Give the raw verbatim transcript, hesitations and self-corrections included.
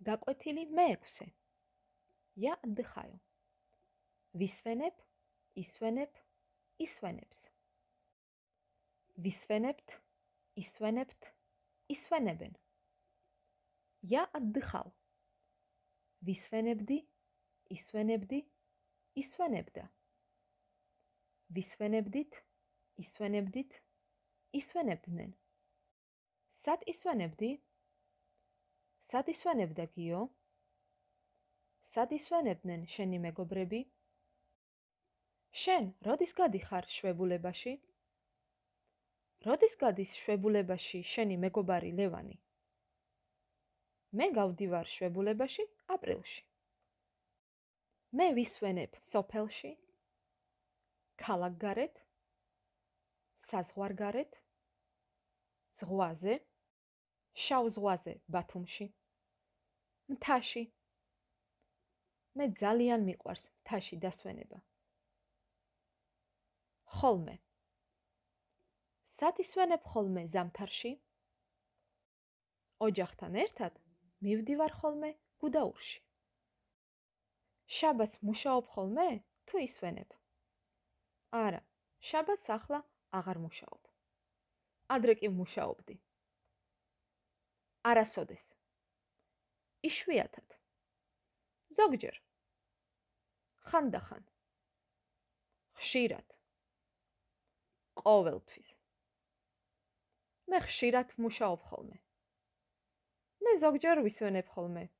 გაკვეთილი მეექვსე. Я отдыхаю. ვისვენებ, ისვენებ, ისვენებს. ვისვენებთ, ისვენებთ, ისვენებენ. Я отдыхал. ვისვენებდი, ისვენებდი, ისვენებდა. ვისვენებდით, ისვენებდით, ისვენებდნენ. სად ისვენებდი? სად ისვენებდა გიო? სად ისვენებდნენ შენი მეგობრები? შენ როდის გადიხარ შვებულებაში? როდის გადის შვებულებაში შენი მეგობარი ლევანი? მე გავდივარ შვებულებაში აპრილში. მე ვისვენებ სოფელში, ქალაქგარეთ, საზღვარგარეთ, ზღვაზე, შავ ზღვაზე ბათუმში, მთაში. მე ძალიან მიყვარს მთაში დასვენება. ხოლმე. სად ისვენებ ხოლმე ზამთარში? ოჯახთან ერთად მივდივარ ხოლმე გუდაურში. შაბათს მუშაობ ხოლმე თუ ისვენებ? არა, შაბათს ახლა აღარ მუშაობ. ადრე კი მუშაობდი. არასოდეს. იშვიათად. ზოგჯერ. ხანდახან. ხშირად. ყოველთვის. მე ხშირად მუშაობ ხოლმე. მე ზოგჯერ ვისვენებ ხოლმე